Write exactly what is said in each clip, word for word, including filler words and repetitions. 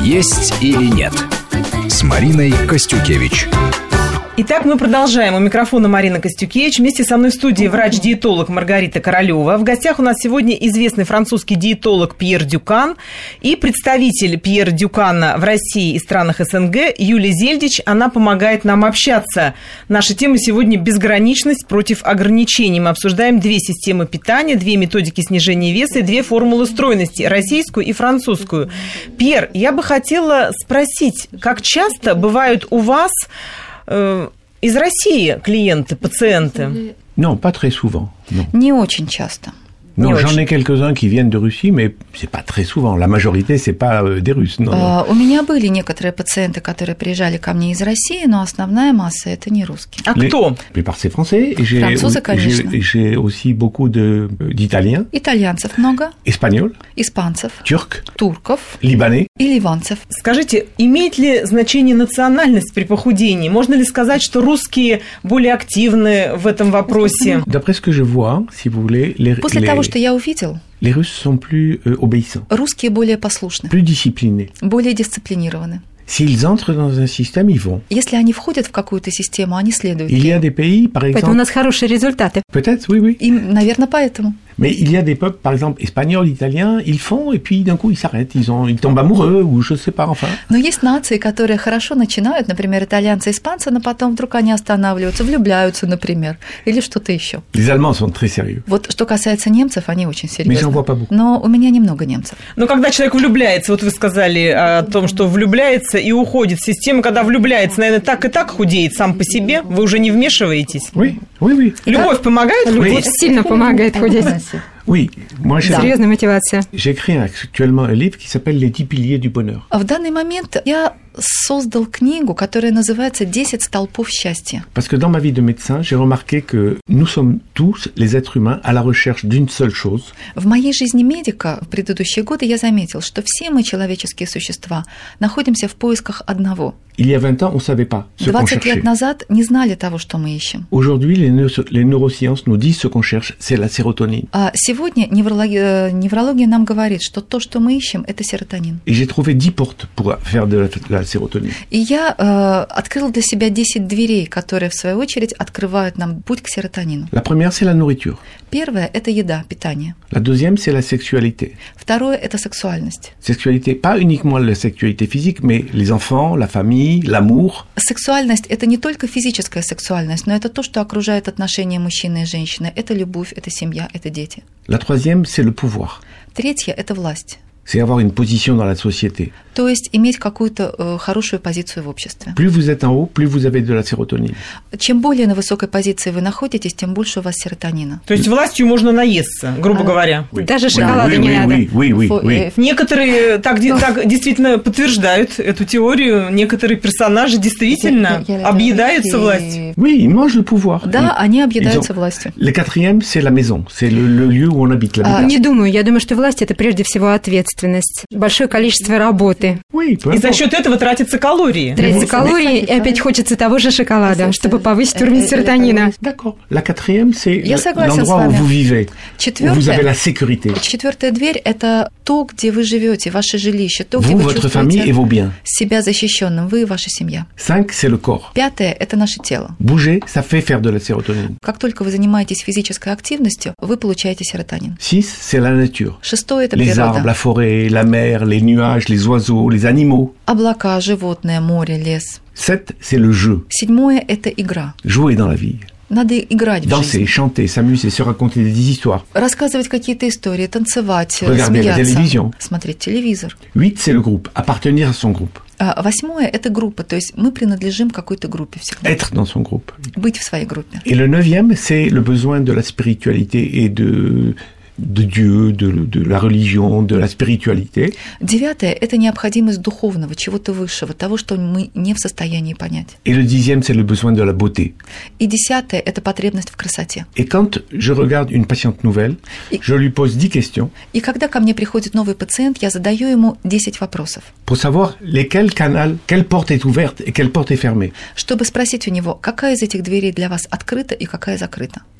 «Есть или нет» с Мариной Костюкевич. Итак, мы продолжаем. У микрофона Марина Костюкевич. Вместе со мной в студии врач-диетолог Маргарита Королева. В гостях у нас сегодня известный французский диетолог Пьер Дюкан и представитель Пьера Дюкана в России и странах СНГ Юлия Зельдич. Она помогает нам общаться. Наша тема сегодня – безграничность против ограничений. Мы обсуждаем две системы питания, две методики снижения веса и две формулы стройности – российскую и французскую. Пьер, я бы хотела спросить, как часто бывают у вас из России клиенты, пациенты? Non, pas très souvent. Non. Не очень часто. Non, j'en ai quelques-uns qui viennent de Russie, mais c'est pas très souvent. La majorité, c'est pas euh, des Russes. Non, uh, у меня были некоторые пациенты, которые приезжали ко мне из России, но основная масса – это не русские. А Les, кто? La plupart, c'est français. Et j'ai, Французы, конечно. J'ai, j'ai aussi beaucoup de, d'Italiens. Итальянцев много. Espagnols. Испанцев. Turcs. Турков. Libanais. И ливанцев. Скажите, имеет ли значение национальность при похудении? Можно ли сказать, что русские более активны в этом вопросе? D'après ce que je vois, si vous voulez, les, После les, того, что я увидел, les Russes sont plus euh, obéissants. Русские более послушны. Plus disciplinés. Более дисциплинированы. S'ils entrent dans un système, ils vont. Если они входят в какую-то систему, они следуют. Il y a des pays, par exemple... Поэтому у нас хорошие результаты. Peut-être, oui, oui. И, наверное, поэтому. Mais il y a des peuples, par exemple, espagnols, italiens, ils font, et puis d'un coup, ils s'arrêtent, ils, ont, ils tombent amoureux, ou je sais pas, enfin. Но есть нации, которые хорошо начинают, например, итальянцы, испанцы, но потом вдруг они останавливаются, влюбляются, например, или что-то еще. Les Allemands sont très sérieux. Вот что касается немцев, они очень Mais j'en vois pas серьезны. beaucoup. Но у меня немного немцев. Но когда человек влюбляется, вот вы сказали о том, что влюбляется и уходит в систему, когда влюбляется, наверное, так и так худеет сам по себе, вы уже не вмешиваетесь? Oui, oui, oui. Любовь помогает Любовь худеть? сильно помогает худеть. Oui, moi j'ai, Серьезная мотивация. j'écris actuellement un livre qui s'appelle Les dix piliers du bonheur. В данный момент я создал книгу, которая называется «Десять столпов счастья». Parce que dans ma vie de médecin, j'ai remarqué que nous sommes tous, les êtres humains, à la recherche d'une seule chose. В моей жизни медика в предыдущие годы я заметил, что все мы, человеческие существа, находимся в поисках одного. Il y a vingt ans, on ne savait pas ce qu'on двадцать cherchait. лет назад не знали того, что мы ищем. Aujourd'hui, les, neuro- les neurosciences nous disent ce qu'on cherche, c'est la sérotonine. А сегодня неврология, неврология нам говорит, что то, что мы ищем, это серотонин. Et j'ai trouvé dix portes pour faire de la, de la sérotonine. И я э, открыл для себя десять дверей, которые, в свою очередь, открывают нам путь к серотонину. La première, c'est la nourriture. Первое – это еда, питание. La deuxième, c'est la sexualité. Второе – это сексуальность. Sexualité, pas uniquement la sexualité physique, mais les enfants, la famille, l'amour. Сексуальность – это не только физическая сексуальность, но это то, что окружает отношения мужчины и женщины. Это любовь, это семья, это дети. La troisième, c'est le pouvoir. Третье – это власть. C'est avoir une position dans la société. То есть иметь какую-то э, хорошую позицию в обществе. Plus vous êtes en haut, plus vous avez de la sérotonine. Чем более на высокой позиции вы находитесь, тем больше у вас серотонина. То есть властью можно наесться, грубо А, говоря. Даже шоколада oui, не oui, надо. oui, oui, oui, Фо- oui. э, Некоторые так, де- так действительно подтверждают эту теорию. Некоторые персонажи действительно Я- я- объедаются и- властью. Oui, ils mangent le pouvoir. Да, Ils- они ils объедаются ont- властью. Le quatrième, c'est la maison. C'est le, le lieu où on habite, la А, maison. Не думаю. Я думаю, что власть – это прежде всего ответственность. Большое количество работы. Oui, peu И за importe. счет этого тратятся калории. Тратится калории, и опять хочется того же шоколада, чтобы повысить уровень серотонина. D'accord. La quatrième, c'est Я le- согласен l'endroit с вами. où vous vivez, où vous avez la Четвертое, sécurité. четвертая дверь – это то, где вы живете, ваше жилище, то, где Vous, вы votre famille et чувствуете vos biens. себя защищенным, вы и ваша семья. Cinq, c'est le corps. Пятое – это наше тело. Bouger, ça fait faire de la sérotonine. Как только вы занимаетесь физической активностью, вы получаете серотонин. Six, c'est la nature. Шестое – это Les arbres, природа. la forêt, la mer, les nuages, les oiseaux, les animaux. Облака, животные, море, лес. Sept, c'est le jeu. Седьмое – это игра. Jouer dans la vie. Надо играть в Danser, жизнь. chanter, s'amuser, se raconter des histoires. Рассказывать какие-то истории, танцевать, Regarder la смеяться, télévision. смотреть телевизор. Huit, c'est le groupe. Appartenir à son groupe. А восьмое – это группа, то есть мы принадлежим какой-то группе всегда. Être dans son groupe. Быть в своей группе. Et le neuvième, c'est le besoin de la spiritualité et de, de Dieu, de, de la religion, de la spiritualité. Девятое – это необходимость духовного, чего-то высшего, того, что мы не в состоянии понять. Et le dixième, c'est le besoin de la beauté. И десятое – это потребность в красоте. Et quand je regarde une patiente nouvelle, Et- je lui pose dix questions И когда ко мне приходит новый пациент, я задаю ему десять вопросов, pour savoir lesquels canaux, quelle porte est ouverte et quelle porte est fermée. чтобы спросить у него, какая из этих дверей для вас открыта и какая закрыта.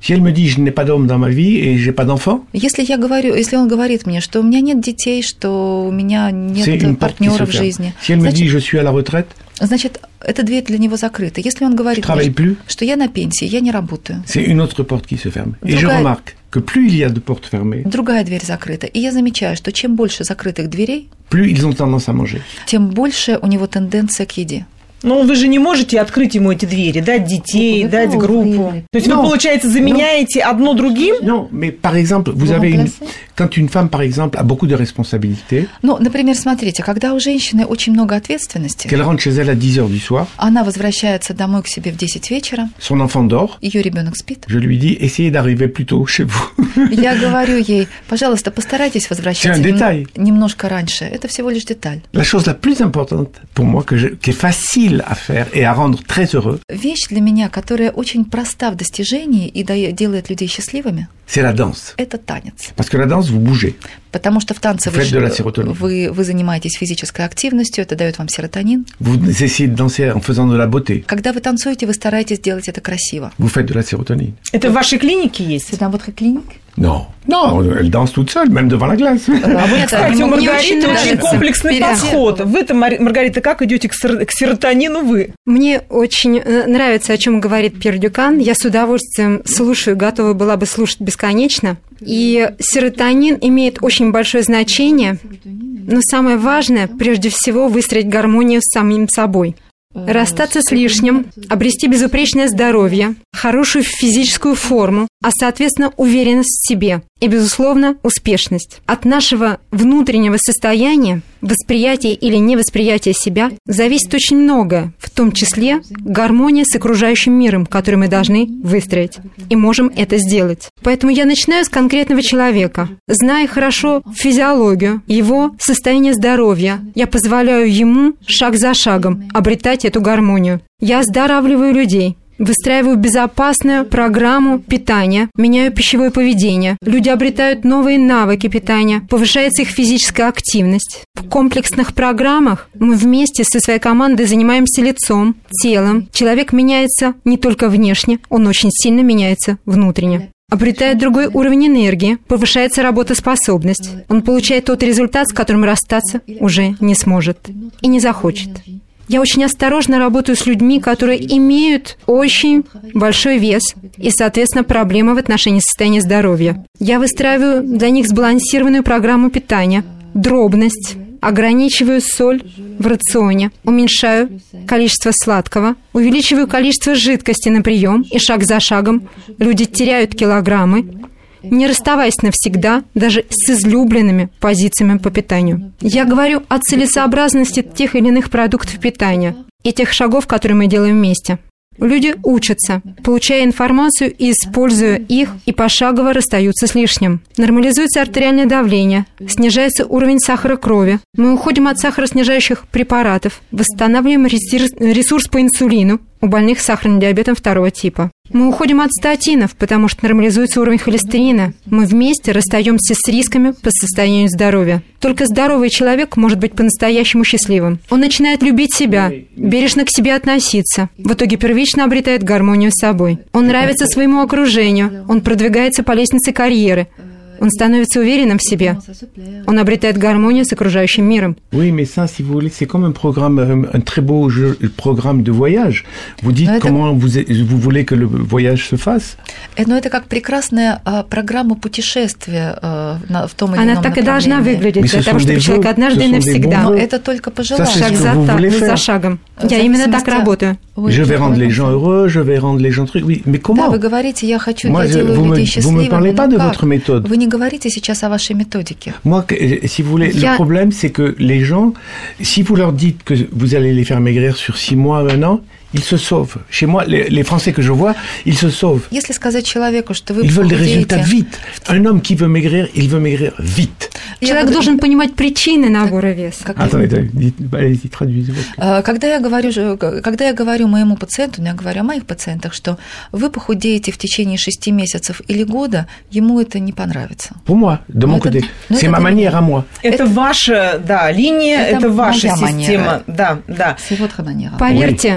Si elle me dit, je n'ai pas d'homme dans ma vie et j'ai pas d'enfant. Если я говорю, если он говорит мне, что у меня нет детей, что у меня нет партнера в жизни. Si elle me dit, je suis à la retraite. Значит, эта дверь для него закрыта. Если он говорит, что я на пенсии, я не работаю. C'est une autre porte qui se ferme. Et je remarque que plus il y a de portes fermées, другая дверь закрыта. И я замечаю, что чем больше закрытых дверей, plus ils ont tendance à manger. Тем больше у него тенденция к еде. Но вы же не можете открыть ему эти двери, дать детей, дать группу. То есть non, вы, получается, заменяете non, одно другим? Non, mais par exemple, vous avez une... Quand une femme, par exemple, a beaucoup de responsabilités... Ну, например, смотрите, когда у женщины очень много ответственности... Qu'elle rentre chez elle à dix heures du soir... Она возвращается домой к себе в десять вечера... Son enfant dort... Её ребёнок спит... Je lui dis, essayez d'arriver plus tôt chez vous. Я говорю ей, пожалуйста, постарайтесь возвращаться нем... немножко раньше. Это всего лишь деталь. La chose la plus importante pour moi, que je... qui est facile à faire et à rendre très heureux. Вещь для меня, которая очень проста в достижении и делает людей счастливыми. C'est la danse. Это танец. Parce que la danse, vous bougez. Потому что в танце вы, вы, вы занимаетесь физической активностью, это дает вам серотонин. Vous essayez de danser en faisant de la beauté. Когда вы танцуете, вы стараетесь делать это красиво. Vous faites de la sérotonine. Это в вашей клинике есть? C'est dans votre clinique? Non, non, elle danse toute seule, même devant la glace. Кстати, у Маргариты очень комплексный подход. Вы-то, Маргарита, как идете к серотонину вы? Мне очень нравится, о чем говорит Пьер Дюкан. Я с удовольствием слушаю, готова была бы слушать бесконечно. И серотонин имеет очень большое значение, но самое важное, прежде всего, выстроить гармонию с самим собой. Расстаться с лишним, обрести безупречное здоровье, хорошую физическую форму, а, соответственно, уверенность в себе и, безусловно, успешность. От нашего внутреннего состояния, восприятия или невосприятия себя зависит очень многое, в том числе гармония с окружающим миром, который мы должны выстроить. И можем это сделать. Поэтому я начинаю с конкретного человека. Зная хорошо физиологию, его состояние здоровья, я позволяю ему шаг за шагом обретать эту гармонию. Я оздоравливаю людей. Выстраиваю безопасную программу питания, меняю пищевое поведение. Люди обретают новые навыки питания, повышается их физическая активность. В комплексных программах мы вместе со своей командой занимаемся лицом, телом. Человек меняется не только внешне, он очень сильно меняется внутренне. Обретает другой уровень энергии, повышается работоспособность. Он получает тот результат, с которым расстаться уже не сможет и не захочет. Я очень осторожно работаю с людьми, которые имеют очень большой вес и, соответственно, проблемы в отношении состояния здоровья. Я выстраиваю для них сбалансированную программу питания, дробность, ограничиваю соль в рационе, уменьшаю количество сладкого, увеличиваю количество жидкости на прием, и шаг за шагом люди теряют килограммы, не расставаясь навсегда даже с излюбленными позициями по питанию. Я говорю о целесообразности тех или иных продуктов питания и тех шагов, которые мы делаем вместе. Люди учатся, получая информацию и используя их, и пошагово расстаются с лишним. Нормализуется артериальное давление, снижается уровень сахара крови. Мы уходим от сахароснижающих препаратов, восстанавливаем ресурс по инсулину у больных с сахарным диабетом второго типа. Мы уходим от статинов, потому что нормализуется уровень холестерина. Мы вместе расстаемся с рисками по состоянию здоровья. Только здоровый человек может быть по-настоящему счастливым. Он начинает любить себя, бережно к себе относиться. В итоге первично обретает гармонию с собой. Он нравится своему окружению. Он продвигается по лестнице карьеры. Он становится уверенным в себе. Он обретает гармонию с окружающим миром. Oui, mais ça, si vous voulez, c'est comme un programme, un très beau jeu, programme de voyage. Vous dites это... comment vous, vous voulez que le voyage se fasse. Но это как прекрасная а, программа путешествия а, на, в том или Она ином так и должна выглядеть, для того, чтобы человек однажды и навсегда. Но это только пожелание. Шаг за, за шагом. Я именно так работаю. Je vais rendre les gens heureux, je vais rendre les gens trucs. Oui, mais comment? Да, вы говорите, я хочу, Moi, я делаю людей счастливыми. Vous me parlez pas de votre méthode. Вы не говорите сейчас о вашей методике. Moi, si vous voulez, Я... le problème, c'est que les gens, si vous leur dites que vous allez les faire maigrir sur six mois, un an, ils se sauvent. Chez moi, les, les Français que je vois, ils se sauvent. Если сказать человеку, что вы Ils veulent des résultats vite. Un homme qui veut maigrir, il veut maigrir vite. Человек я... должен понимать причины набора веса. Как... Attendez, allez-y, traduisez. Когда я говорю, когда я говорю моему пациенту, я говорю о моих пациентах, что вы похудеете в течение шести месяцев или года, ему это не понравится. Pour moi, de mon côté, c'est ma manière à moi. Это ваша, да, линия, это ваша система, да, да. C'est votre manière. Поверьте, первый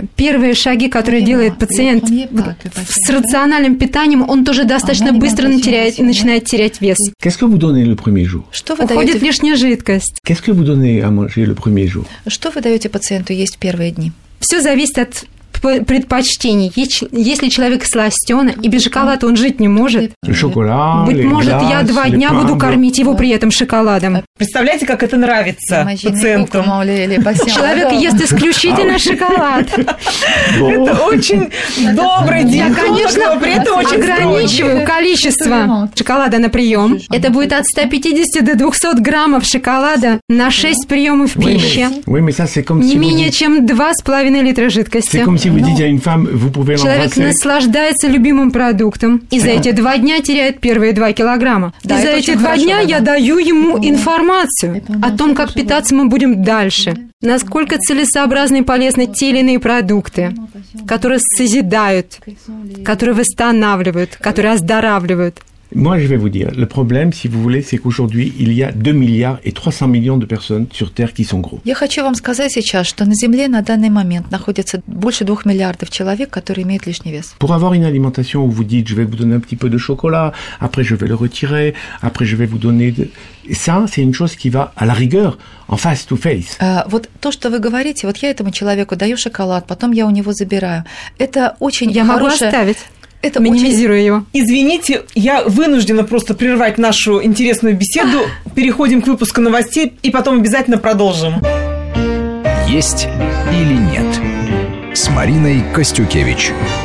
первые шаги, которые делает пациент с рациональным питанием, он тоже достаточно быстро теряет, начинает терять вес. Qu'est-ce que vous donnez le premier jour? Что вы Уходит даете? лишняя жидкость. Qu'est-ce que vous donnez à manger le premier jour? Что вы даете пациенту есть в первые дни? Все зависит от предпочтений. Если человек сластёный и без шоколада он жить не может, Le chocolat, быть les может, glaces, я два les дня pains буду blancs. кормить его при этом шоколадом. Представляете, как это нравится пациентам? Человек ест исключительно шоколад. Это очень добрый диетолог, Я, конечно, но при этом очень ограничиваю количество шоколада на прием. Это будет от ста пятидесяти до двухсот граммов шоколада на шесть приемов пищи. Oui, mais ça, c'est comme Не si vous менее dites- чем два с половиной литра c'est жидкости. comme si vous dites à une femme, vous pouvez Человек l'embrasser. наслаждается любимым продуктом и за эти два дня теряет первые два килограмма. Да, и за это эти очень два хорошо, дня да. я даю ему информацию о том, как питаться мы будем дальше, насколько целесообразны и полезны те или иные продукты, которые созидают, которые восстанавливают, которые оздоравливают. Moi, je vais vous dire, le problème, si vous voulez, c'est qu'aujourd'hui, il y a deux milliards et trois cents millions de personnes sur Terre qui sont gros. Я хочу вам сказать сейчас, что на Земле на данный момент находится больше двух миллиардов человек, которые имеют лишний вес. Pour avoir une alimentation où vous dites, je vais vous donner un petit peu de chocolat, après je vais le retirer, après je vais vous donner... De... Et ça, c'est une chose qui va, à la rigueur, en face to face. А, Вот то, что вы говорите, вот я этому человеку даю шоколад, потом я у него забираю. Это очень Я могу хорошая... оставить, Это очень... минимизируя его. Извините, я вынуждена просто прервать нашу интересную беседу. Переходим к выпуску новостей и потом обязательно продолжим. «Есть или нет» с Мариной Костюкевич.